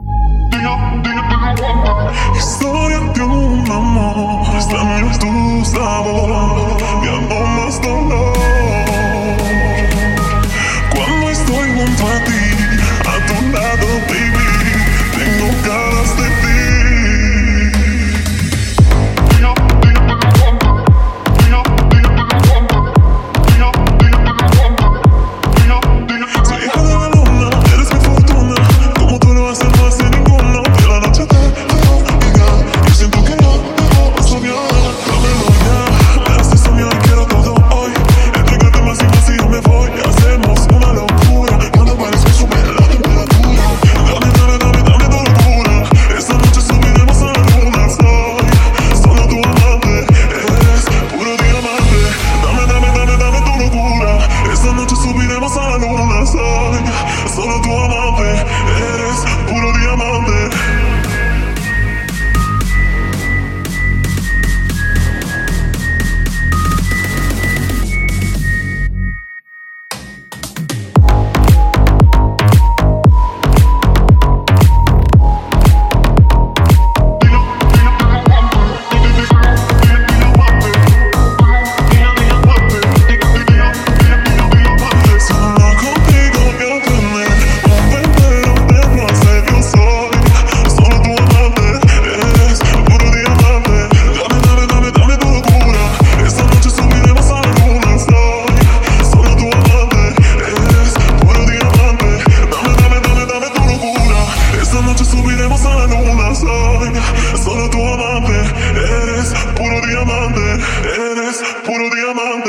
Historia de un amor, extraño tu sabor, ya no más dolor. Cuando estoy junto a ti, a tu lado, baby, tengo ganas de ti. Soy hija de la luna, eres mi fortuna, como tú lo haces no hace ninguno. De la noche te veo llegar, yo siento que no debo soñar. Dámelo ya, me haces soñar, quiero todo hoy. Entrégate más y más y yo me voy. Hacemos una locura, cuando bailes me sube la temperatura. Dame, dame, dame, dame tu locura. Esta noche subiremos a la luna. Soy solo tu amante, eres puro diamante. Dame, dame, dame, dame tu locura. Esta noche subiremos a la luna. Soy solo tu amante, eres puro diamante. Solo contigo voy a tener un entero de placer. Yo soy solo tu amante, eres puro diamante. Dame, dame, dame, dame tu locura. Esta noche subiremos a la luna. Soy solo tu amante, eres puro diamante. Dame, dame, dame, dame tu locura. Esta noche subiremos a la luna. Soy solo tu amante, eres puro diamante, eres puro diamante.